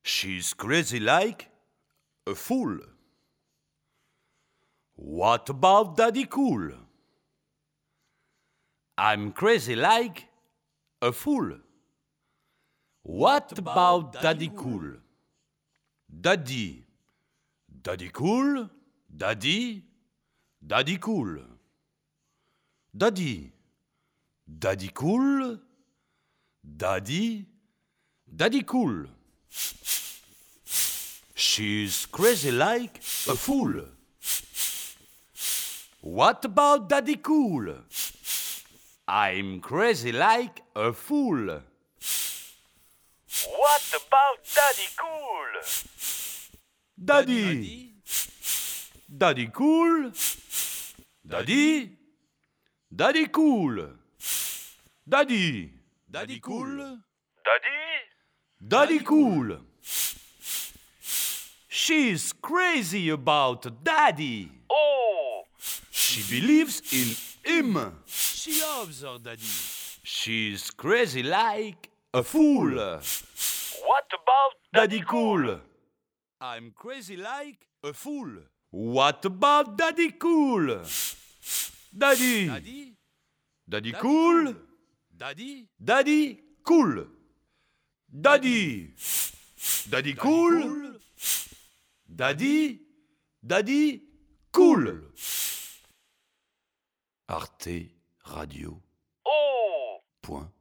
She's crazy like a fool. What about Daddy Cool? I'm crazy like a fool. What about Daddy Cool? Daddy Cool? Daddy Cool. Daddy Cool? Daddy Cool. She's crazy like a fool. What about Daddy Cool? I'm crazy like a fool. What about Daddy Cool? Daddy Cool? Daddy Cool. Daddy Cool. Daddy Cool. She's crazy about Daddy. Oh! She believes in him. She loves her daddy. She's crazy like a fool. What about Daddy Cool? I'm crazy like a fool. What about Daddy Cool? Daddy Cool? Daddy Cool. Daddy Cool? Daddy Cool. Arte Radio. Oh! Point.